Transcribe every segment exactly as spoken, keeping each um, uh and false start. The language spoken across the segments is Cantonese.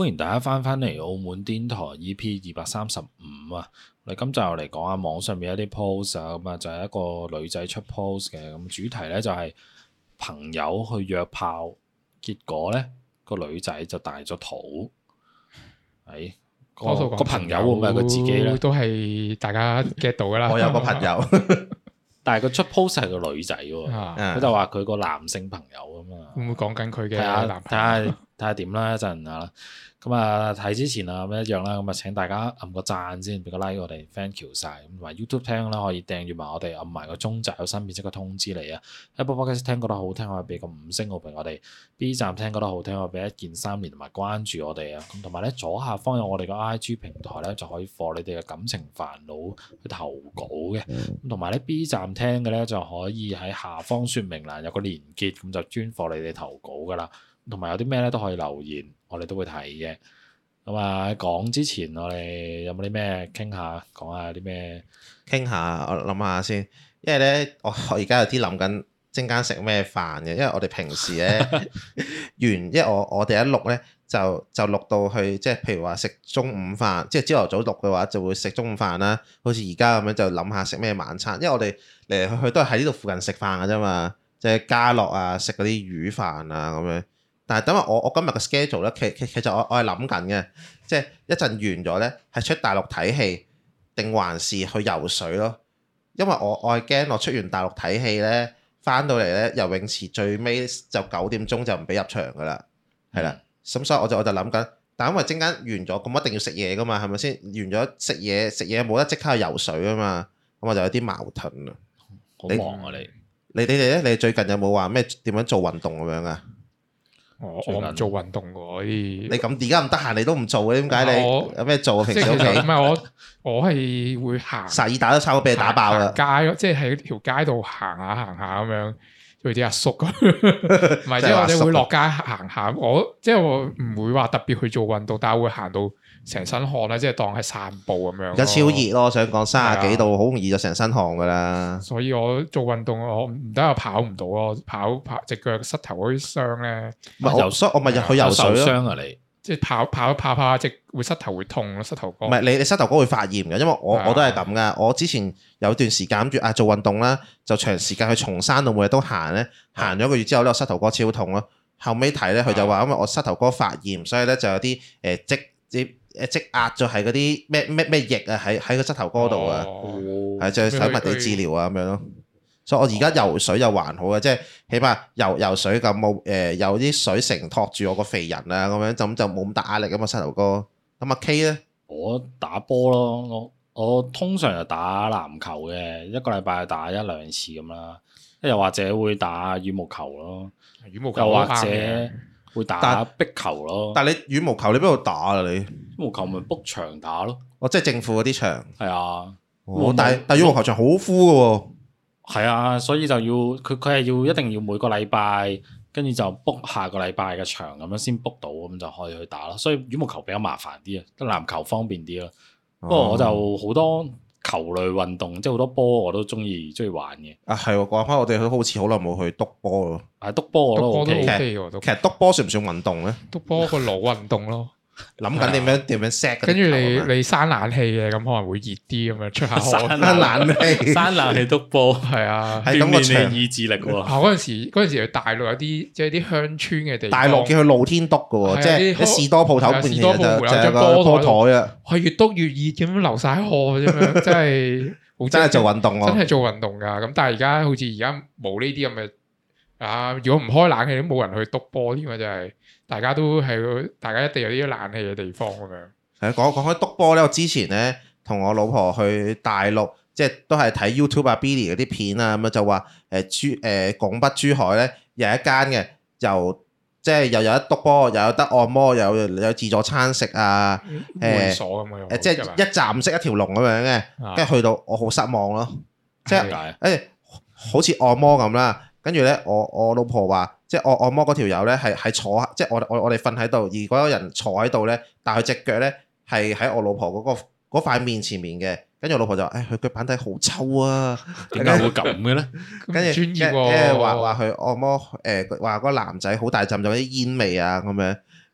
歡迎大家翻返嚟澳門癲台 E P 二百三十五啊！我哋今集又嚟講下網上面一啲 post 啊，咁啊就係一個女仔出 post 嘅，咁主題咧就係朋友去約炮，結果咧個女仔就大咗肚，係個個朋友會唔會係佢自己咧？ 都係大家 get 到噶啦。 我有個朋友， 但係佢出 post 係個女仔喎，佢、啊、就話佢個男性朋友啊嘛。 會唔會講緊佢嘅男朋友？ 睇下睇下點啦，一陣啊。咁啊睇之前啊咁一樣啦，咁啊請大家撳個讚先，俾個 like 我哋 thank you 晒。咁同埋 YouTube 聽啦，可以訂閱埋我哋，撳埋個鐘仔有新片即刻通知你啊。Apple Podcast 聽覺得好聽，可以俾個五星好評我哋。B 站聽覺得好聽，可以俾一鍵三連同埋關注我哋啊。咁同埋咧左下方有我哋個 I G 平台咧，就可以放你哋嘅感情煩惱去投稿嘅。咁同埋咧 B 站聽嘅咧就可以喺下方說明欄有個連結，咁就專放你哋投稿噶啦。同埋有啲咩咧都可以留言，我哋都會睇嘅。咁啊，講之前我哋有冇啲咩傾下，講下啲咩？ 傾下，我諗下先。因為咧，我我而家有啲諗緊陣間食咩飯嘅。因為我哋平時咧完，因為我我哋一錄咧就就錄到去，即係譬如話食中午飯，即係朝頭早錄嘅話就會食中午飯啦。好似而家咁樣就諗下食咩晚餐。因為我哋嚟嚟去去都係喺呢度附近食飯嘅啫嘛，即係家樂啊，食嗰啲魚飯啊咁樣。但係等下我我今日嘅 schedule 咧，其其其實我我係諗緊嘅，即係一陣完咗咧，係出大陸睇戲定還是去游水咯？因為我我係驚我出完大陸睇戲咧，翻到嚟咧游泳池最尾就九點鐘就唔俾入場噶啦，係啦，咁所以我就我就諗緊，但因為陣間完咗，咁一定要食嘢噶嘛，係咪先？完咗食嘢食嘢冇得即刻去游水啊嘛，咁我就有啲矛盾啊。 好忙啊你！ 你你哋咧？你最近有冇話咩點樣做運動咁樣啊？ 我我唔做運動喎， 你咁而家咁得閒，你都唔做嘅，點解你有咩做啊？平時屋企唔係我我係會行， 薩爾達都差唔多俾你打爆啦。 街咯，即係喺條街度行下行下咁樣，做啲阿叔咁。唔係，即係我哋會落街行下。我即係我唔會話特別去做運動，但係會行到成身汗啦，即係當係散步咁樣。而家超熱咯，我想講三十幾度，好容易就成身汗噶啦。 所以我做運動我唔得，我跑唔到咯，跑跑隻腳膝頭嗰啲傷咧。 唔係游水，我咪入去游水咯。 傷啊你！ 即係跑跑跑跑，隻會膝頭會痛咯，膝頭哥。 唔係你你膝頭哥會發炎嘅，因為我我都係咁噶。我之前有段時間諗住啊做運動啦，就長時間去松山度每日都行咧，行咗一個月之後咧，我膝頭哥超痛咯。後尾睇咧，佢就話因為我膝頭哥發炎，所以咧就有啲誒積啲。誒積壓咗係嗰啲咩咩咩液啊，喺喺個膝頭哥度啊，係就係使物理治療啊咁樣咯。所以我而家游水又還好嘅，即係起碼游游水咁冇誒有啲水承托住我個肥人啊咁樣，咁就冇咁大壓力咁啊膝頭哥。咁阿 K 咧， 我打波咯，我我通常就打籃球嘅，一個禮拜打一兩次咁啦，又或者會打羽毛球咯，羽毛球又或者。會打壁球咯， 但係你羽毛球你邊度打啊？你羽毛球咪 book 場打咯， 哦，即係政府嗰啲場， 係啊， 哦、但係但係羽毛球場好 full 嘅喎， 係啊，所以就要佢佢係要一定要每個禮拜跟住就 book 下個禮拜嘅場咁樣先 book 到，咁就可以去打咯。所以羽毛球比較麻煩啲啊，得籃球方便啲咯。不過、哦、我就好多球類運動，即係好多波我都中意中意玩嘅。 啊係喎，講翻我哋都好似好耐冇去督波咯。 係督波我都 OK 嘅， 其實督波算唔算運動咧？ 督波個腦運動咯。 諗緊點樣點樣 set， 跟住你你閂冷氣嘅，咁可能會熱啲咁樣出下汗。 閂冷氣， 閂冷氣督波，係啊，鍛鍊你意志力喎。 啊嗰陣時嗰陣時去大陸有啲即係啲鄉村嘅地方， 大陸叫佢露天督嘅喎，即係啲士多鋪頭邊就就有個波台啊， 係越督越熱咁樣流晒汗咁樣，真係真係做運動咯， 真係做運動㗎。咁但係而家好似而家冇呢啲咁嘅啊，如果唔開冷氣都冇人去督波添啊，真係。大家都係，大家一定有啲冷氣嘅地方咁樣。 係講講開督波咧，我之前咧同我老婆去大陸，即係都係睇 YouTube 啊、Billy 嗰啲片啊，咁樣就話誒珠誒拱北珠海咧有一間嘅，又即係又有得督波，又有得按摩，又有有自助餐食啊， 會所咁樣誒即係一站式一條龍咁樣嘅，跟住去到我好失望咯，即係誒好似按摩咁啦。跟住咧，我我老婆話，即係按按摩嗰條友咧，係係坐，即係我我我哋瞓喺度，而嗰個人坐喺度咧，但係佢隻腳咧係喺我老婆嗰個嗰塊面前面嘅。跟住我老婆就話，誒佢腳板底好臭啊， 點解會咁嘅咧？ 跟住專業喎，話話佢按摩誒，話嗰個男仔好大陣就啲煙味啊咁樣。跟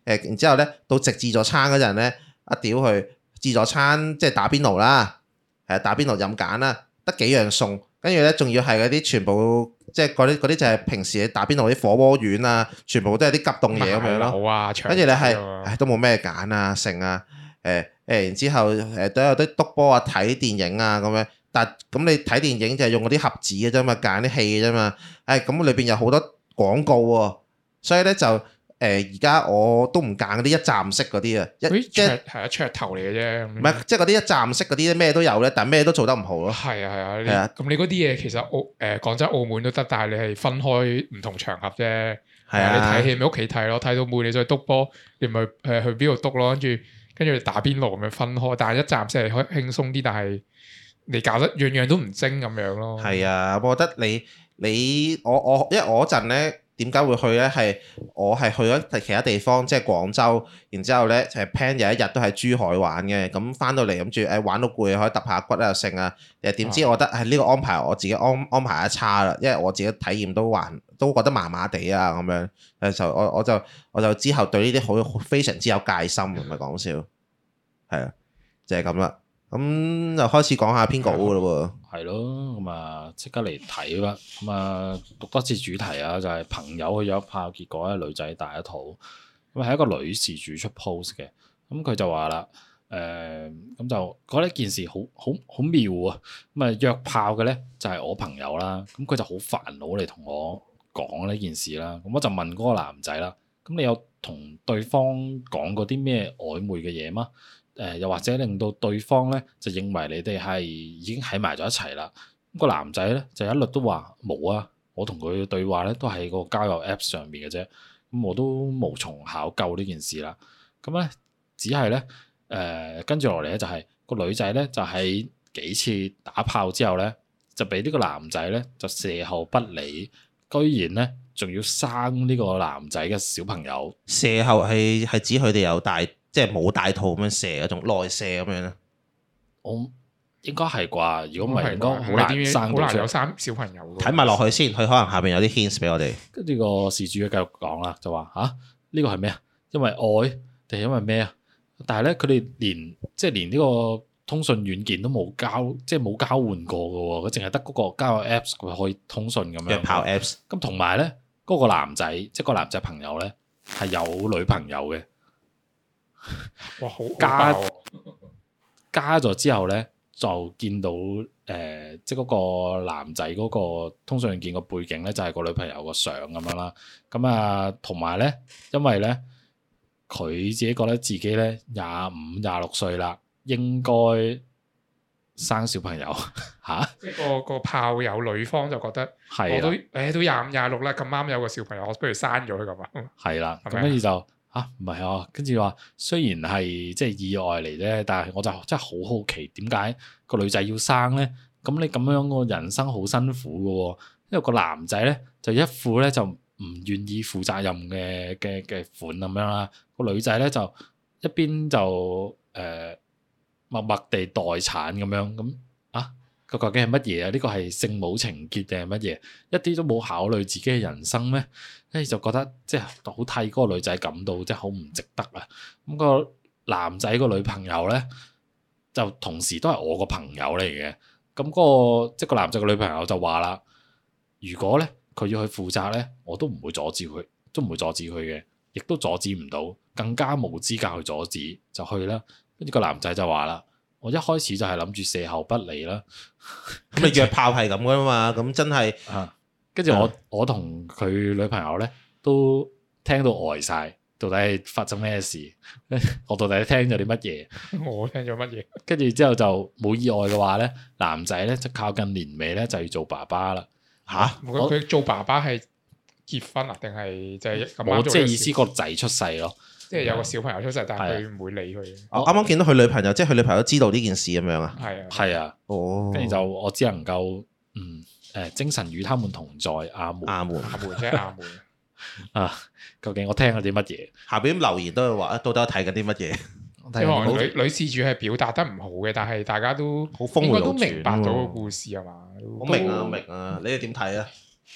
誒，然之後咧到食自助餐嗰陣咧，一屌佢自助餐即係打邊爐啦，係打邊爐任揀啦，得幾樣餸，跟住咧仲要係嗰啲全部即係嗰啲嗰啲就係平時你打邊爐啲火鍋丸啊，全部都係啲急凍嘢咁樣咯。跟住你係唉都冇咩揀啊，剩啊，誒誒，然之後誒都有啲篤波啊，睇電影啊咁樣。但咁你睇電影就係用嗰啲盒子嘅啫嘛，揀啲戲嘅啫嘛。誒咁裏邊有好多廣告喎，所以咧就誒而家我都唔揀嗰啲一站式嗰啲啊，一即係係啊噱頭嚟嘅啫。 唔係即係嗰啲一站式嗰啲咩都有咧，但係咩都做得唔好咯。 係啊係啊，係啊。咁你嗰啲嘢其實澳誒廣州澳門都得，但係你係分開唔同場合啫。係啊，你睇戲咪屋企睇咯，睇到悶你再篤波，你咪誒去邊度篤咯，跟住跟住打邊爐咁樣分開。但係一站式係可以輕鬆啲，但係你搞得樣樣都唔精咁樣咯。係啊，我覺得你你我我因為我嗰陣咧點解會去咧？係我係去咗其他地方，即係廣州，然之後咧就係 plan 有一日都喺珠海玩嘅。咁翻到嚟諗住誒玩到攰，可以揼下骨啊剩啊。誒點知我覺得係呢個安排我自己安安排得差啦，因為我自己體驗都還都覺得麻麻地啊咁樣。誒就我我就我就之後對呢啲好非常之有戒心，唔係講笑。係啊，就係咁啦。咁就開始講下編稿噶咯喎， 係咯，咁啊即刻嚟睇啦，咁啊讀多次主題啊，就係、是、朋友去咗炮，結果咧女仔大一肚，咁係一個女事主出 post 嘅，咁佢就話啦，誒、呃、咁就覺得件事好好好妙啊，咁啊約炮嘅咧就係、是、我朋友啦，咁佢就好煩惱嚟同我講呢件事啦，咁我就問嗰個男仔啦，咁你有同對方講過啲咩曖昧嘅嘢嗎？誒、呃、又或者令到對方咧就認為你哋係已經喺埋咗一齊啦。咁、個男仔咧就一律都話冇啊，我同佢嘅對話咧都喺個交友 Apps 上面嘅啫。咁我都無從考究呢件事啦。咁咧只係咧誒跟住落嚟咧就係、是、個女仔咧就喺幾次打炮之後咧就俾呢個男仔咧就射後不理，居然咧仲要生呢個男仔嘅小朋友。 射後係係指佢哋有大。即係冇大肚咁樣射嗰種內射咁樣咧， 我應該係啩？如果唔係，應該好難生到出嚟。好難有生小朋友。 睇埋落去先，佢可能下邊有啲 hints 俾我哋。 跟住個事主繼續講啦，就話吓呢個係咩啊？因為愛定係因為咩啊？但係咧，佢哋連即係連呢個通訊軟件都冇交，即係冇交換過嘅喎。佢淨係得嗰個交友 Apps 佢可以通訊咁樣。 約炮 Apps。 咁同埋咧，嗰個男仔即係個男仔朋友咧係有女朋友嘅。 哇！好加加咗之後咧，就見到誒、呃，即係嗰個男仔嗰個通訊軟件個背景咧，就係、是、個女朋友個相咁樣啦。咁啊，同埋咧，因為咧，佢自己覺得自己咧廿五、廿六歲啦，應該生小朋友嚇。 即係個個炮友女方就覺得， 係啦， 我都誒、欸、都廿五、廿六啦，咁啱有個小朋友，我不如生咗佢咁啊。 係啦，咁跟住就。啊，唔係啊，跟住話雖然係即係意外嚟啫，但係我就真係好好奇點解個女仔要生咧？咁你咁樣個人生好辛苦嘅喎，因為個男仔咧就一副咧就唔願意負責任嘅嘅嘅款咁樣啦，個女仔咧就一邊就誒、呃、默默地待產咁樣咁啊。個究竟係乜嘢啊？呢個係聖母情結定係乜嘢？一啲都冇考慮自己嘅人生咩？跟住就覺得即係好替嗰個女仔感到即係好唔值得啊！咁個男仔個女朋友咧，就同時都係我個朋友嚟嘅。咁嗰個即係個男仔個女朋友就話啦：如果咧佢要去負責咧，我都唔會阻止佢，都唔會阻止佢嘅，亦都阻止唔到，更加冇資格去阻止，就去啦。跟住個男仔就話啦。我一開始就係諗住射後不理啦， 咁你約炮係咁噶嘛？咁真係， 跟住我我同佢女朋友咧都聽到呆晒，到底係發生咩事？我到底聽咗啲乜嘢？ 我聽咗乜嘢？ 跟住之後就冇意外嘅話咧，男仔咧就靠近年尾咧就要做爸爸啦。 吓？ 佢做爸爸係結婚啊？定係就係咁？ 我即係意思個仔出世咯。 即係有個小朋友出世，但係佢唔會理佢。 我啱啱見到佢女朋友，即係佢女朋友知道呢件事咁樣啊。 係啊， 係啊。哦。跟住就我只能夠嗯誒，精神與他們同在，阿門。 阿門， 阿門即係阿門。 啊，究竟我聽咗啲乜嘢？ 下邊留言都係話，到底睇緊啲乜嘢？ 即係女女事主係表達得唔好嘅，但係大家都好峰迴路轉， 應該都明白到個故事係嘛？ 好明啊，明啊，你哋點睇啊？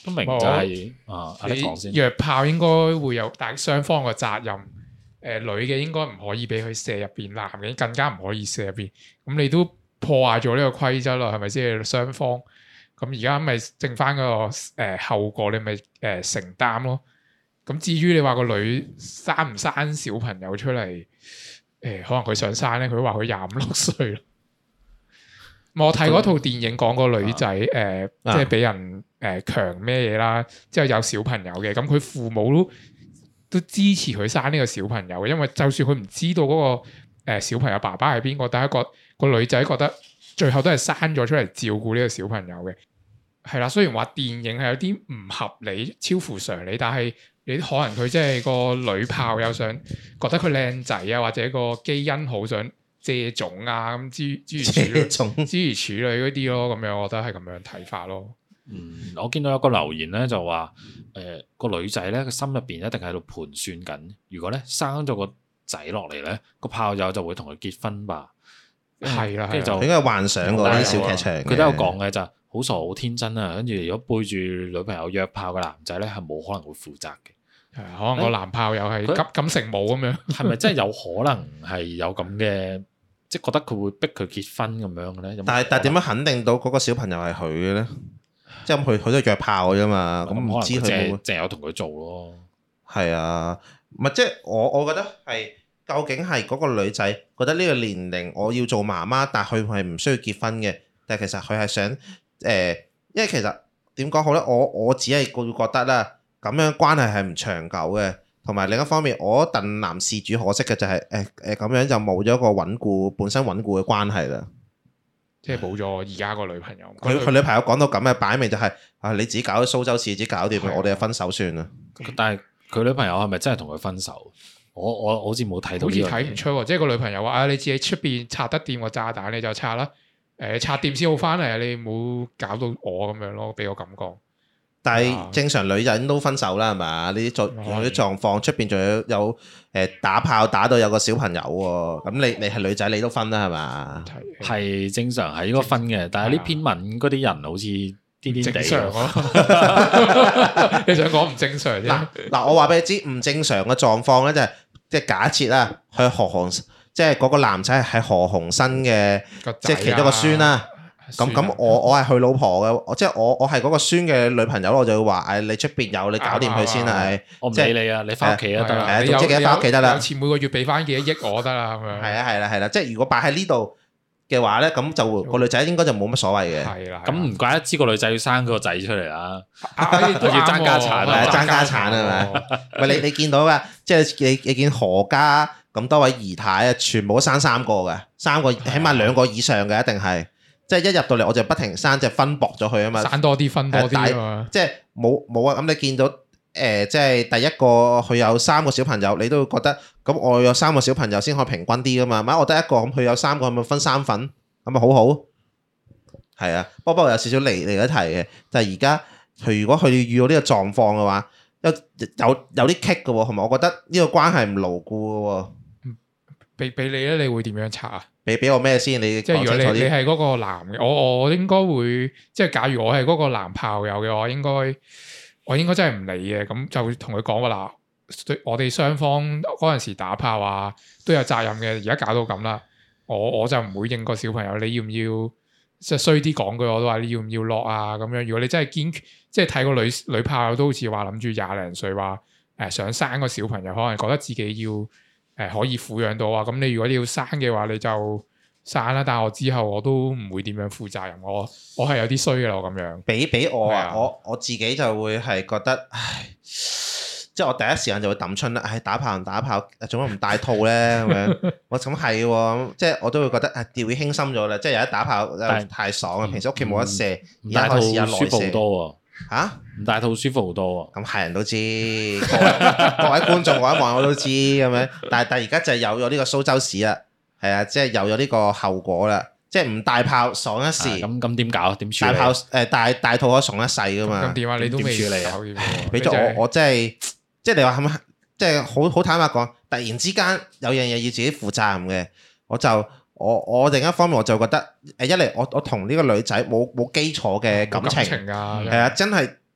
都明就係啊，你講先。 約炮應該會有，但係雙方嘅責任。誒、呃、女嘅應該唔可以俾佢射入邊，男嘅更加唔可以射入邊。咁你都破壞咗呢個規則啦，係咪先？雙方咁而家咪剩翻個誒、呃、後果，你咪誒、呃、承擔咯。咁至於你話個女生唔生小朋友出嚟，誒、呃、可能佢想生咧，佢話佢廿五六歲啦。我睇嗰套電影講個女仔誒、呃，即係俾人誒強咩嘢啦，之後有小朋友嘅，咁佢父母都都支持佢生呢個小朋友嘅，因為就算佢唔知道嗰、那個、呃、小朋友爸爸係邊個，但係個個女仔覺得最後都係生咗出嚟照顧呢個小朋友嘅。係啦，雖然話電影係有啲唔合理、超乎常理，但係你可能佢即係個女炮友想覺得佢靚仔啊，或者個基因好想借種啊咁諸諸如此類，諸如此類嗰啲咯，咁樣我覺得係咁樣睇法咯。 嗯，我見到有個留言咧就話，誒、呃、個女仔咧個心入邊一定喺度盤算緊，如果咧生咗個仔落嚟咧，個炮友就會同佢結婚吧。 係啦， 跟住就應該幻想過啲小劇場。 佢都有講嘅就好傻好天真啊，跟住如果背住女朋友約炮嘅男仔咧，係冇可能會負責嘅。 係可能個男炮友係金金城武咁樣， 係咪真係有可能係有咁嘅，即係覺得佢會逼佢結婚咁樣嘅咧？ 但係但係點樣肯定到嗰個小朋友係佢嘅咧？即係佢佢都係約炮嘅啫嘛，咁唔知佢冇淨係有同佢做咯。 係啊，唔係即係我我覺得係究竟係嗰個女仔覺得呢個年齡我要做媽媽，但係佢係唔需要結婚嘅，但係其實佢係想誒、呃，因為其實點講好咧？我我只係會覺得啦，咁樣關係係唔長久嘅，同埋另一方面，我戥男事主可惜嘅就係誒誒咁樣就冇咗個穩固本身穩固嘅關係啦。 即係冇咗而家個女朋友， 佢佢女朋友講到咁嘅擺明就係、是、啊，你自己搞咗蘇州市，自己搞掂，的我哋就分手算啦。 但係佢女朋友係咪真係同佢分手？我我好似冇睇到，好似睇唔出喎。即係個女朋友話啊，你自己出邊拆得掂個炸彈你就拆啦，誒、呃、拆掂先好翻嚟，你唔好搞到我咁樣咯，俾我感覺。 但係正常女人都分手啦，係嘛？呢啲狀啲狀況出邊仲有有誒打炮打到有個小朋友喎，咁你你係女仔你都分啦係嘛？ 係正常係應該分嘅，但係呢篇文嗰啲人好似癲癲地。正常咯， 你想講唔正常啫？ 嗱嗱，我話俾你知唔正常嘅狀況咧，就係即係假設啦，去何鴻即係嗰個男仔係何鴻燊嘅，即係其中一個孫啦。咁咁我我係佢老婆嘅，即係我我係嗰個孫嘅女朋友，我就會話誒，你出邊有你搞掂佢先啦，係我唔理你啊，你翻屋企都得啦， 係總之記得翻屋企得啦， 有錢每個月俾翻幾多億我得啦，咁樣係啊係啦係啦，即係如果擺喺呢度嘅話咧，咁就個女仔應該就冇乜所謂嘅。 係啦， 咁唔怪得知個女仔要生個仔出嚟啦， 都要爭家產啊，爭家產係咪？喂，你你見到噶，即係你你見何家咁多位姨太啊，全部都生三個嘅，三個起碼兩個以上嘅一定係。即係一入到嚟我就不停生，即係分薄咗佢啊嘛， 生多啲分多啲啊嘛， 即係冇冇啊！咁你見到誒、呃，即係第一個佢有三個小朋友，你都會覺得咁我有三個小朋友先可以平均啲噶嘛？咪我得一個咁，佢有三個，咁咪分三份，咁咪好好。係啊，不過不過有少少離離咗題嘅，就係而家佢如果佢遇到呢個狀況嘅話，有有有啲棘嘅喎，同埋我覺得呢個關係唔牢固嘅喎。 俾俾你咧，你會點樣拆啊？ 俾俾我咩先？你即係如果你你係嗰個男嘅，我我應該會即係假如我係嗰個男炮友嘅話，應該我應該真係唔理嘅，咁就同佢講話啦。我哋雙方嗰陣時打炮啊，都有責任嘅。而家搞到咁啦，我我就唔會應個小朋友。你要唔要即係衰啲講句，我都話你要唔要落啊？咁樣如果你真係堅決，即係睇個女女炮友都好似話諗住廿零歲話誒想生個小朋友，可能覺得自己要。誒、呃，可以撫養到啊！咁你如果你要生嘅話，你就生啦。但係我之後我都唔會點樣負責任。我我係有啲衰嘅啦，我咁樣。俾俾我啊！啊我我自己就會係覺得，唉，即係我第一時間就會抌春啦。唉，打炮唔打炮，做乜唔帶套咧？咁樣我咁係喎，即係我都會覺得啊，掉以輕心咗啦。即係有一打炮太爽啦！平時屋企冇得射，而家可以試下內射。舒服好多嚇，唔帶套舒服好多喎。咁係人都知，各位各位觀眾我一望我都知咁樣。但係但係而家就係有咗呢個蘇州市啦，係啊，即係有咗呢個後果啦。即係唔帶炮爽一時，咁咁點搞？點處理？帶炮誒帶帶套可爽一世噶嘛？咁點啊？你都未處理啊？俾咗我我真係即係你話係咪？即係好好坦白講，突然之間有樣嘢要自己負責任嘅，我就。我我另一方面我就覺得誒一嚟我我同呢個女仔冇冇基礎嘅感情，係啊，真係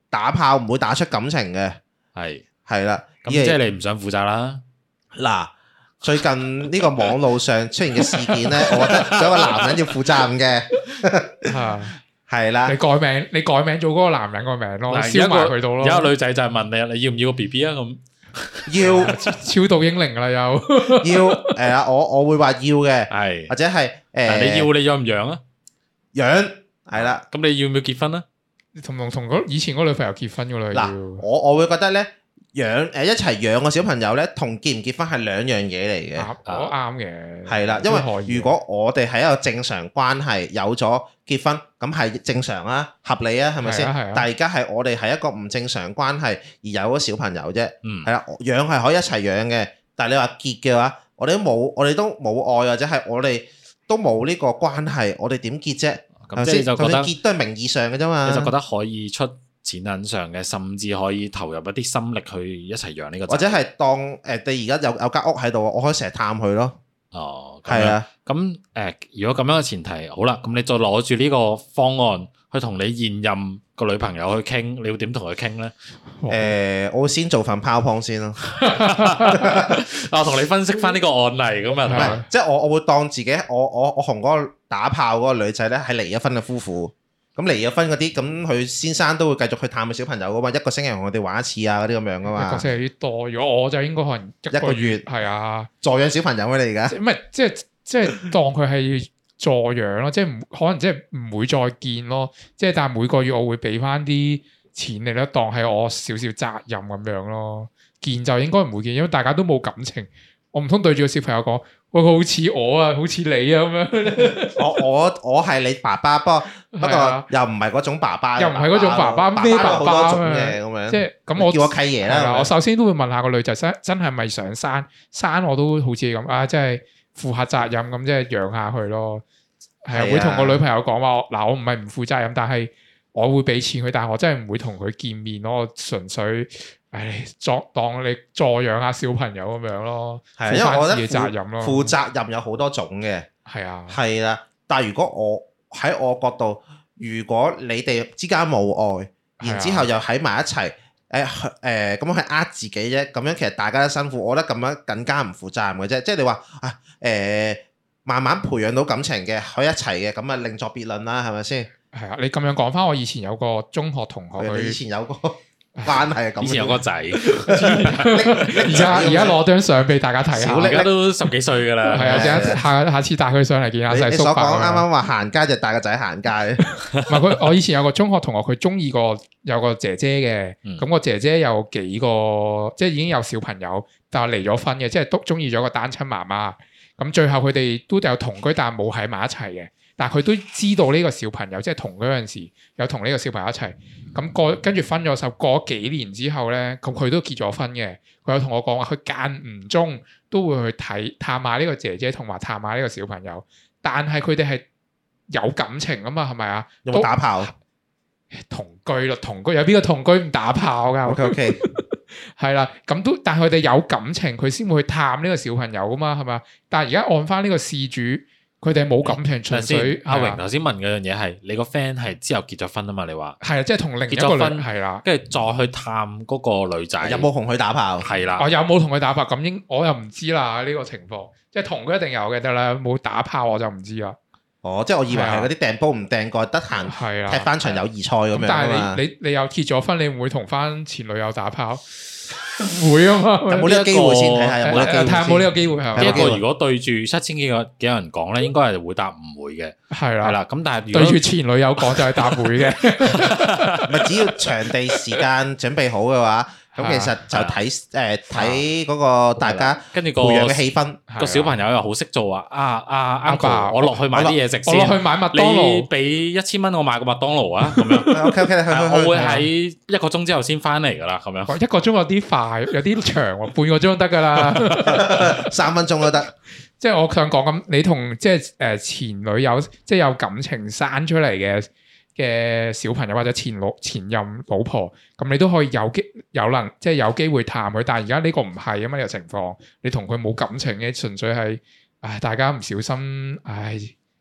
打炮唔會打出感情嘅， 係係啦。 咁即係你唔想負責啦。 嗱，最近呢個網路上出現嘅事件咧，我覺得有個男人要負責任嘅，係啦。 你改名，你改名做嗰個男人個名咯，燒埋佢度咯。 有個女仔就係問你，你要唔要個 B B 啊？咁要超度英靈啦，又要誒啊！我我會話要嘅， 係或者係誒， 你要你養唔養啊？ 養係啦。 咁你要唔要結婚啊？ 同同同以前嗰女朋友結婚噶啦。 嗱，我我會覺得咧，養誒一齊養個小朋友咧，同結唔結婚係兩樣嘢嚟嘅。 我啱嘅， 係啦，因為如果我哋係一個正常關係，有咗結婚，咁係正常啊，合理啊，係咪先？但係而家係我哋係一個唔正常關係，而有咗小朋友啫。嗯，係啦，養係可以一齊養嘅，但係你話結嘅話，我哋都冇，我哋都冇愛，或者係我哋都冇呢個關係，我哋點結啫？ 咁即係就覺得結都係名義上嘅啫嘛。 你就覺得可以出錢銀上嘅，甚至可以投入一啲心力去一齊養呢個仔， 或者係當誒、呃、你而家有有間屋喺度，我可以成日探佢咯。 哦， 係啊。 咁誒、呃，如果咁樣嘅前提，好啦，咁你再攞住呢個方案去同你現任個女朋友去傾，你要點同佢傾咧？ 誒、呃，我會先做份 PowerPoint 先咯。 我同你分析翻呢個案例咁啊， 唔係，即係我我會當自己，我我我同嗰個打炮嗰個女仔咧係離咗婚嘅夫婦。咁離咗婚嗰啲，咁佢先生都會繼續去探佢小朋友噶嘛，一個星期同佢哋玩一次啊，嗰啲咁樣噶嘛。一個星期有啲多，如果我就應該可能一個月係啊， 助養小朋友啊，你而家？ 唔係，即係即係當佢係助養咯，即係唔可能即係唔會再見咯，即係但係每個月我會俾翻啲錢你咧，當係我少少責任咁樣咯。見就應該唔會見，因為大家都冇感情，我唔通對住個小朋友講，喂，佢好似我啊，好似你啊咁樣。我我我係你爸爸，不過不過又唔係嗰種爸爸， 又唔係嗰種爸爸，咩爸爸嘅咁樣。 即係咁，我叫我契爺啦。 我首先都會問下個女仔真真係咪想生？生我都好似咁啊，即係負下責任咁，即係養下佢咯。係啊，會同個女朋友講話，嗱，我唔係唔負責任，但係我會俾錢佢，但係我真係唔會同佢見面咯，我純粹。唉，作當你助養下小朋友咁樣咯， 係，因為我覺得責任咯， 負責任有好多種嘅， 係啊， 係啦。但係如果我喺我角度，如果你哋之間冇愛，然之後又喺埋一齊，誒誒咁樣去呃自己啫，咁樣其實大家都辛苦，我覺得咁樣更加唔負責任嘅啫。即係你話啊，誒、呃、慢慢培養到感情嘅，喺一齊嘅，咁啊另作別論啦，係咪先？ 係啊，你咁樣講翻，我以前有個中學同學，佢以前有個。關係係咁， 以前有個仔， 而家而家攞張相俾大家睇下， 而家都十幾歲噶啦。 係啊，下下次帶佢上嚟見下細叔伯。你所講啱啱話行街就帶個仔行街。 唔係佢，我以前有個中學同學，佢中意個有個姐姐嘅，咁個姐姐有幾個，即係已經有小朋友，但係離咗婚嘅，即係都中意咗個單親媽媽。咁最後佢哋都有同居，但係冇喺埋一齊嘅。但係佢都知道呢個小朋友，即係同嗰陣時有同呢個小朋友一齊。咁過跟住分咗手，過咗幾年之後咧，咁佢都結咗婚嘅。佢有同我講話，佢間唔中都會去睇探下呢個姐姐，同埋探下呢個小朋友。但係佢哋係有感情啊嘛，係咪啊？ 有冇打炮？ 同居咯，同居有邊個同居唔打炮㗎 ？OK OK， 係啦，咁都但係佢哋有感情，佢先會去探呢個小朋友啊嘛，係咪？但係而家按翻呢個事主。佢哋冇感情，純粹阿榮頭先問嗰樣嘢係你個 friend 係之後結咗婚啊嘛？你話係啊，即係同另一個結咗婚係啦， 跟住再去探嗰個女仔， 有冇同佢打炮？ 係啦， 我有冇同佢打炮？咁應我又唔知啦呢個情況，即係同佢一定有嘅得啦，冇打炮我就唔知啦。 哦，即係我以為係嗰啲掟波唔掟蓋，得閒踢翻場友誼賽咁樣。 但係你你你又結咗婚，你唔會同翻前女友打炮？唔會啊嘛， 有冇呢個機會先睇下有冇睇下冇呢個機會係呢一個如果對住七千幾個幾人講咧，應該係會答唔會嘅。係啦，係啦。咁但係對住前女友講就係答會嘅。 咪只要場地時間準備好嘅話。咁其實就睇誒睇嗰個大家跟住個培養嘅氣氛， 個小朋友又好識做啊！啊啊 uncle，我落去買啲嘢食先， 我落去買麥當勞， 你俾一千蚊我買個麥當勞啊！咁樣 OK OK， 我會喺一個鐘之後先翻嚟噶啦，咁樣一個鐘有啲快，有啲長喎，半個鐘都得噶啦， 三分鐘都得。 即係我想講咁，你同即係誒前女友即係有感情生出嚟嘅嘅小朋友或者前老前任老婆，咁你都可以有機有能即係有機會探佢，但係而家呢個唔係啊嘛，呢個情況，你同佢冇感情嘅，純粹係唉大家唔小心唉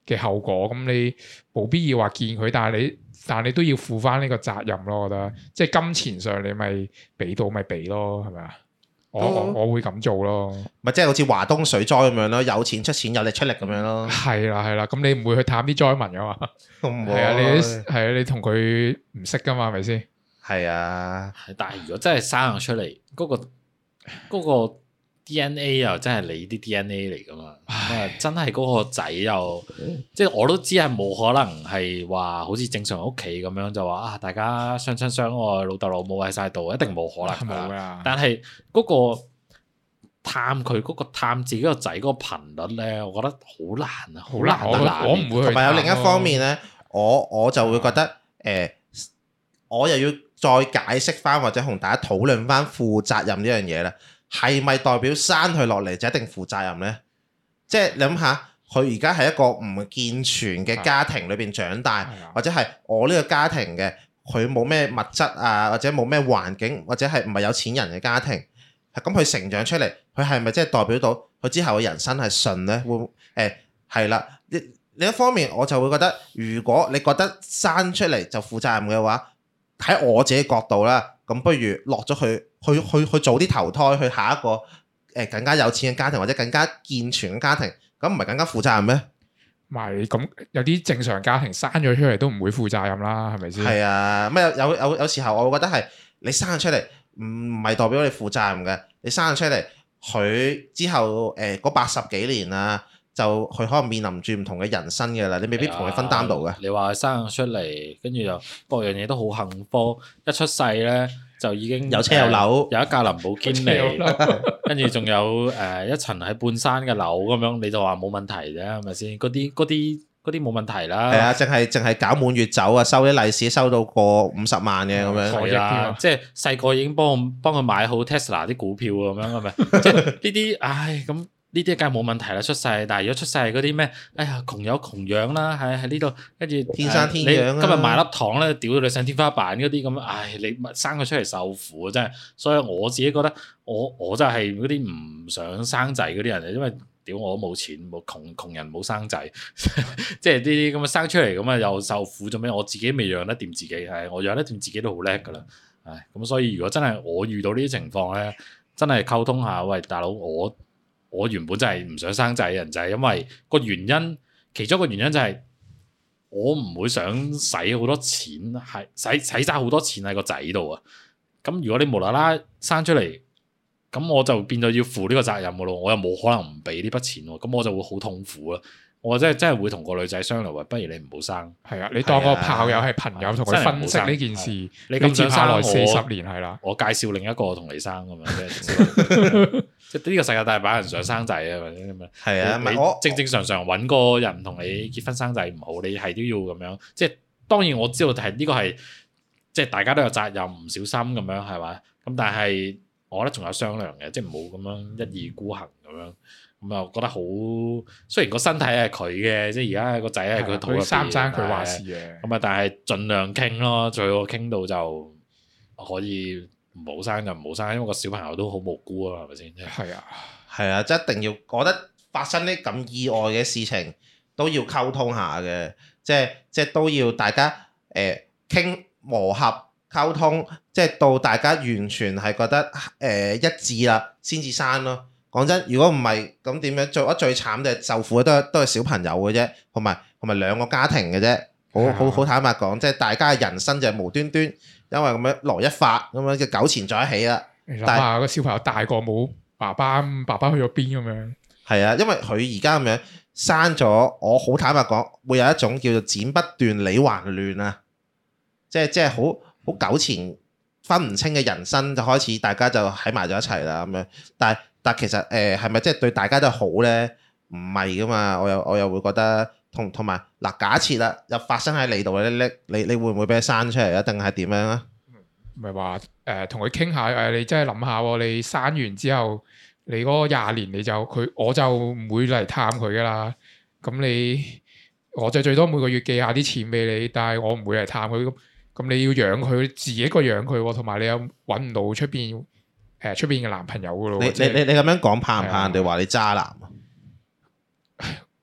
嘅後果，咁你冇必要話見佢，但係你但係你都要負翻呢個責任咯。我覺得即係金錢上你咪俾到咪俾咯，係咪啊？我我我會咁做咯， 咪即係好似華東水災咁樣咯，有錢出錢，有力出力咁樣咯。係啦係啦，咁你唔會去探啲災民噶嘛？係啊，你係啊，你同佢唔識噶嘛，係咪先？係啊， 但係如果真係生出嚟，嗰、嗰個、嗰個 D N A 又真係你啲 D N A 嚟噶嘛？咁啊，真係嗰個仔又即係我都知係冇可能係話好似正常屋企咁樣就話啊，大家相親相愛，老豆老母喺晒度，一定冇可能㗎。 啊、 但係嗰個探佢嗰、嗰個探自己個仔嗰個頻率咧，我覺得好難啊，好難難。我唔會去。 同埋有另一方面咧，我我就會覺得誒、呃，我又要再解釋翻或者同大家討論翻負責任呢樣嘢啦。係咪代表生佢落嚟就一定負責任呢？即係你諗下，佢而家係一個唔健全嘅家庭裏邊長大，的或者係我呢個家庭嘅，佢冇咩物質啊，或者冇咩環境，或者係唔係有錢人嘅家庭，咁佢成長出嚟，佢係咪即係代表到佢之後嘅人生係順呢？會誒係啦。另一方面，我就會覺得，如果你覺得生出嚟就負責任嘅話，喺我自己角度啦，咁不如落咗去。去去去早啲投胎去下一個誒更加有錢嘅家庭或者更加健全嘅家庭，咁唔係更加負責任咩？ 咪咁有啲正常家庭生咗出嚟都唔會負責任啦，係咪先？ 係啊，咩有有有時候我會覺得係你生咗出嚟唔唔係代表你負責任嘅，你生咗出嚟佢之後誒嗰八十幾年啊，就佢可能面臨住唔同嘅人生嘅啦，你未必同佢分擔到嘅。 你話生咗出嚟，跟住又各樣嘢都好幸福，一出世咧。就已經有車有樓， 有一架林寶堅尼，跟住仲有誒一層喺半山嘅樓咁樣，你就話冇問題啫，係咪先？嗰啲嗰啲嗰啲冇問題啦。 係啊，淨係淨係搞滿月酒啊，收啲利是收到過五十萬嘅咁樣。 係啦，即係細個已經幫我幫佢買好 Tesla 啲股票咁樣，係咪？即係呢啲，唉咁。呢啲梗係冇問題啦，出世，但係如果出世係嗰啲咩，哎呀窮有窮養啦，喺喺呢度，跟住天生天養、啊、 你今日買粒糖咧，屌到你上天花板嗰啲咁，唉，你生佢出嚟受苦啊，真係。所以我自己覺得，我我就係嗰啲唔想生仔嗰啲人，因為屌我都冇錢，冇窮窮人冇生仔，即係呢啲咁啊生出嚟咁啊又受苦做咩？我自己未養得掂自己，係我養得掂自己都好叻噶啦，唉，咁所以如果真係我遇到呢啲情況咧，真係溝通下，喂大佬我。我原本就係唔想生仔嘅人，就係因為個原因，其中一個原因就係我唔會想使好多錢，係使使曬好多錢喺個仔度啊。咁如果你無啦啦生出嚟，咁我就變咗要負呢個責任嘅咯。我又冇可能唔俾呢筆錢喎，咁我就會好痛苦啊。我真係真係會同個女仔商量話，不如你唔好生。係啊，你當個炮友係朋友，同佢分析呢件事。你咁接下來四十年係啦， 我介紹另一個同你生咁樣。即係呢個世界大把人想生仔啊，或者咁樣。 係啊， 你正正常常揾個人同你結婚生仔唔好，你係都要咁樣。即係當然我知道係呢個係即係大家都有責任，唔小心咁樣係嘛。咁但係我覺得仲有商量嘅，即係唔好咁樣一意孤行咁樣。咁啊，覺得好。雖然個身體係佢嘅，即係而家個仔係佢肚入邊， 生唔生佢話事嘅。 咁啊，但係盡量傾咯，最好傾到就可以唔好生就唔好生，因為個小朋友都好無辜啊，係咪先？ 係啊， 係啊，即係一定要。我覺得發生呢咁意外嘅事情都要溝通下嘅，即係即係都要大家誒傾、呃、磨合溝通，即係到大家完全係覺得誒、呃、一致啦，先至生咯。講真，如果唔係咁點樣？做得最慘就係受苦嘅都係都係小朋友嘅啫，同埋同埋兩個家庭嘅啫。好好好坦白講，即係大家嘅人生就係無端端因為咁樣來一發咁樣嘅糾纏在一起啦。 你諗下個小朋友大個冇爸爸，爸爸去咗邊咁樣？係啊，因為佢而家咁樣生咗，我好坦白講，會有一種叫做剪不斷理還亂啊，即係即係好好糾纏分唔清嘅人生，就開始大家就喺埋咗一齊啦咁樣，但係。但其實誒係咪即係對大家都好咧？唔係噶嘛，我又我又會覺得同同埋嗱，假設啦，又發生喺你度咧，你你你會唔會俾佢生出嚟啊？定係點樣啊？ 唔係話誒同佢傾下誒，你真係諗下喎，你生完之後，你嗰廿年你就佢我就唔會嚟探佢噶啦。咁你我就最多每個月寄下啲錢俾你，但係我唔會嚟探佢。咁咁你要養佢，自己一個養佢，同埋你又揾唔到出邊。誒，出邊嘅男朋友噶咯？ 你你你你咁樣講怕唔怕人哋話你渣男啊？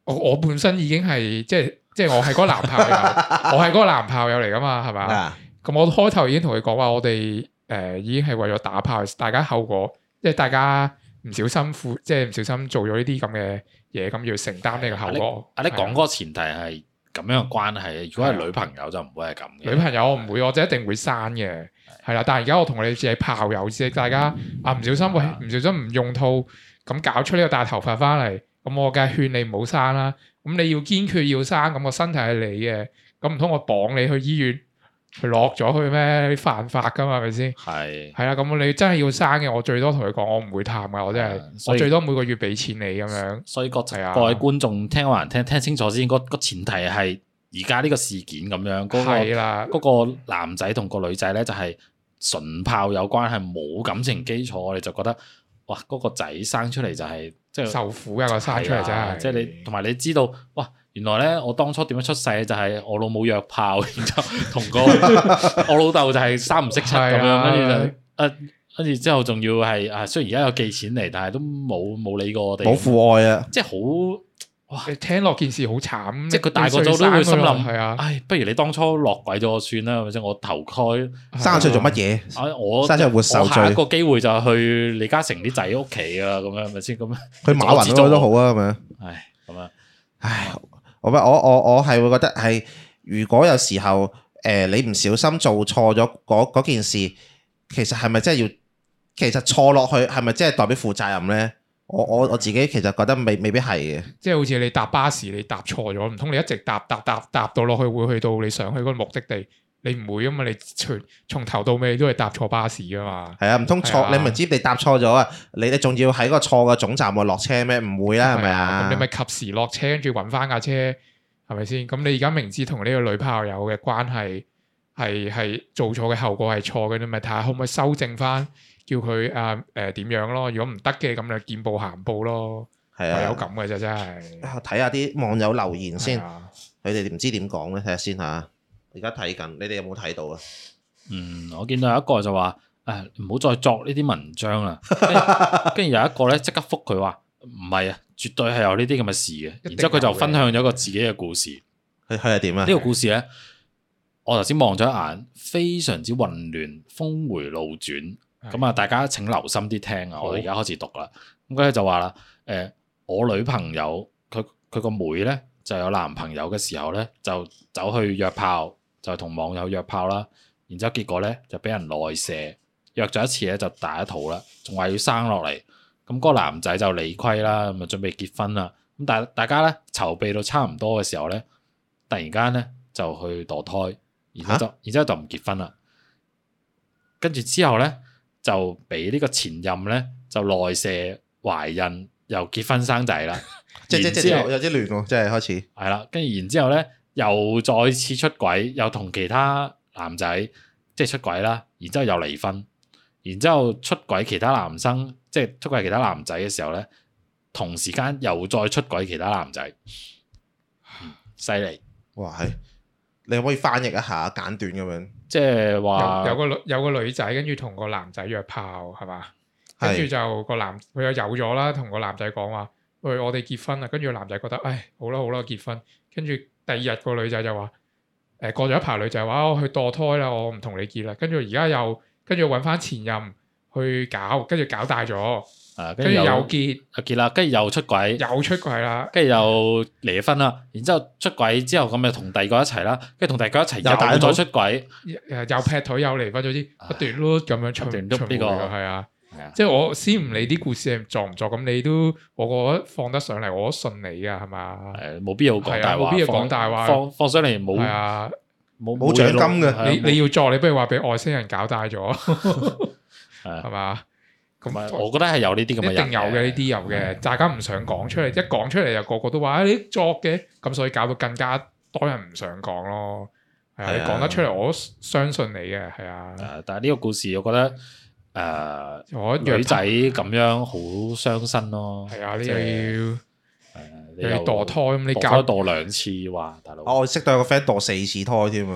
我我本身已經係即係即係我係嗰個男炮友，我係嗰個男炮友嚟噶嘛，係嘛？咁我開頭已經同佢講話，我哋誒、呃、已經係為咗打炮，大家後果即係大家唔小心負，即係唔小心做咗呢啲咁嘅嘢，咁要承擔呢個後果。 啊，你講嗰個前提係咁樣嘅關係，如果係女朋友就唔會係咁嘅。女朋友我唔會，我就一定會刪嘅。係啦，但係而家我同你只係炮友啫，大家啊唔小心喂，唔小心唔用套咁搞出呢個大頭髮翻嚟，咁我梗係勸你唔好生啦。咁你要堅決要生，咁個身體係你嘅，咁唔通我綁你去醫院去落咗去咩？你犯法噶嘛，係咪先？係係啦，咁你真係要生嘅，我最多同佢講，我唔會探噶，我真係，我最多每個月俾錢你咁樣。所以各各位觀眾聽還聽聽清楚先，個個前提係而家呢個事件咁樣，嗰個嗰個男仔同個女仔咧就係純炮友關係，冇感情基礎，我哋就覺得哇，嗰個仔生出嚟就係即係受苦呀，個生出嚟真係，即係你同埋你知道哇。原來咧，我當初點樣出世就係我老母約炮，然之後同個我老豆就係三唔識七咁樣，跟住就誒，跟住之後仲要係啊，雖然而家有寄錢嚟，但係都冇冇理過我哋，冇父愛啊，即係好哇！你聽落件事好慘，即係佢大個咗都會心諗，係啊，唉，不如你當初落鬼咗我算啦，或者我投胎生出嚟做乜嘢？啊，我生出嚟活受罪，下一個機會就去李嘉誠啲仔屋企啊，咁樣係咪先？咁樣去馬雲嗰都好啊，咁樣，唉，咁樣，唉。我我我我係會覺得係，如果有時候誒、呃、你唔小心做錯咗嗰件事，其實係咪真係要？其實錯落去係咪真係代表負責任咧？我我我自己其實覺得未未必係嘅。即係好似你搭巴士你搭錯咗，唔通你一直搭搭搭搭到落去會去到你想去嗰個目的地？你唔會啊嘛？你從從頭到尾都係搭錯巴士噶嘛？係啊，唔通錯？你明知你搭錯咗啊？你你仲要喺個錯嘅總站度落車咩？唔會啦，係咪啊？咁你咪及時落車，跟住揾翻架車，係咪先？咁你而家明知同呢個女炮友嘅關係係係做錯嘅後果係錯嘅，你咪睇下可唔可以修正翻，叫佢啊誒點樣咯？如果唔得嘅，咁就見步行步咯。係啊，有咁嘅啫，真係。睇下啲網友留言先，佢哋唔知點講咧，睇下先嚇。而家睇緊，你哋有冇睇到啊？嗯，我見到有一個就話，誒唔好再作呢啲文章啦。跟住有一個咧即刻覆佢話，唔係啊，絕對係有呢啲咁嘅事嘅。然之後佢就分享咗個自己嘅故事。佢佢係點啊？呢個故事咧，我頭先望咗一眼，非常之混亂，峰迴路轉。咁啊，大家請留心啲聽啊！我而家開始讀啦。咁佢咧就話啦，誒我女朋友佢佢個妹咧就有男朋友嘅時候咧，就走去約炮。就同網友約炮啦，然之後結果咧就俾人內射，約咗一次咧就大一肚啦，仲話要生落嚟，咁嗰個男仔就理虧啦，咁啊準備結婚啦，咁但係大家咧籌備到差唔多嘅時候咧，突然間咧就去墮胎，然之後就、啊、然之後就唔結婚啦，跟住之後咧就俾呢個前任咧就內射懷孕，又結婚生仔啦，即即即有啲亂喎，即係開始係啦，跟住然之後咧。又再次出軌，又同其他男仔即係出軌啦，然之後又離婚，然之後出軌其他男生，即係出軌其他男仔嘅時候咧，同時間又再出軌其他男仔，犀利！哇，係你可唔可以翻譯一下簡短咁樣？即係話有，有個女有個女仔跟住同個男仔約炮係嘛？跟住就個男佢又有咗啦，同個男仔講話，喂，我哋結婚啦！跟住個男仔覺得，唉，好啦好啦，結婚，跟住。第二日個女仔就話：誒、呃、過咗一排，女仔話我去墮胎啦，我唔同你結啦。跟住而家又跟住揾翻前任去搞，跟住搞大咗，跟住、啊、又結，結啦，跟住又出軌，又出軌啦，跟住又離婚啦。然之後出軌之後咁就同第二個一齊啦，跟住同第二個一齊又再出軌，誒又劈腿又離婚咗啲，不斷碌咁樣出出呢個係啊。即係我先唔理啲故事係作唔作，咁你都我覺得放得上嚟，我都信你噶，係嘛？誒，冇必要講大話，冇必要講大話，放放上嚟冇係啊，冇冇獎金嘅。你你要作，你不如話俾外星人搞大咗，係嘛？咁我覺得係有呢啲咁嘅，一定有嘅，呢啲有嘅，大家唔想講出嚟，一講出嚟就個個都話誒你作嘅，咁所以搞到更加多人唔想講咯。係啊，你講得出嚟，我都相信你嘅，係啊。誒，但係呢個故事，我覺得。誒，我、呃、女仔咁樣好傷身咯。係啊，你又要誒，你要墮胎咁，你搞墮兩次哇，大佬。我識到有個 friend 墮四次胎添啊。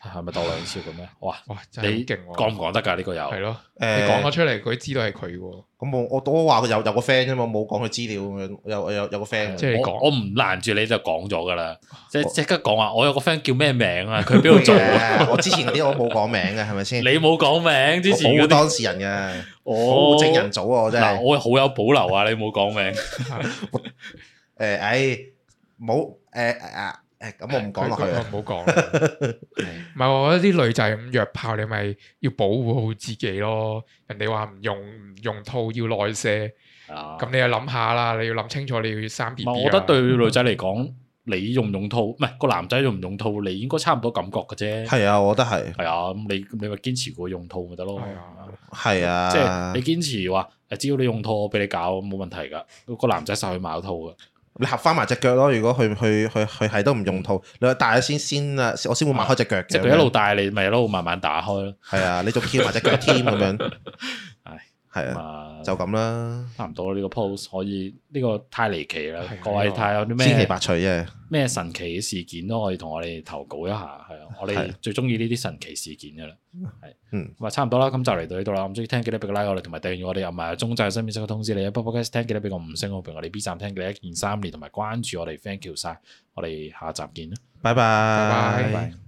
係咪鬥兩次嘅咩？哇哇，真係你勁喎！ 講唔講得㗎？呢個有係咯， 誒你講咗出嚟，佢知道係佢喎。 咁我我都話佢有有個 friend 啫嘛，冇講佢資料咁樣，有有有個 friend。 即係你講我我唔攔住你就講咗㗎啦，即係即刻講話我有個 friend 叫咩名啊？佢邊度做啊？ 我之前嗰啲我冇講名嘅，係咪先？ 你冇講名，之前嗰啲我冇當事人嘅， 我冇證人組啊！我真係嗱，我好有保留啊！你冇講名。 誒，唉，冇誒誒誒，咁我唔講落去啦。 唔好講。唔係，我覺得啲女仔咁約炮，你咪要保護好自己咯。人哋話唔用唔用套要內射，咁你就諗下啦。你要諗清楚，你要生 B B 啊。 我覺得對女仔嚟講，你用唔用套，唔係個男仔用唔用套，你應該差唔多感覺嘅啫。 係啊，我覺得係。 係啊，咁你你咪堅持過用套咪得咯。 係啊， 係啊， 即係你堅持話，誒，只要你用套，我俾你搞，冇問題㗎。個男仔實去買套㗎。 你合翻埋隻腳咯。如果佢佢佢佢係都唔用套，你話戴咗先先啊，我先會擘開隻腳嘅。 即係佢一路戴你，咪一路慢慢打開咯。 係啊，你仲翹埋隻腳添咁樣。 係係啊，就咁啦。 差唔多呢個 post 可以，呢個太離奇啦！ 係啊各位睇下有啲咩千奇百趣啫。 咩神奇嘅事件都可以同我哋投稿一下，係啊，我哋最中意呢啲神奇事件噶啦，係， 嗯， 咁啊差唔多啦，咁就嚟到呢度啦，咁中意聽記得俾個 like 我哋，同埋訂閱我哋，又唔係中掣新片即刻通知你啊，Podcast 聽記得俾個五星好評，我哋 B 站聽記得一鍵三連，同埋關注我哋 thank you 晒，我哋下集見啦， 拜拜， 拜拜。 拜拜。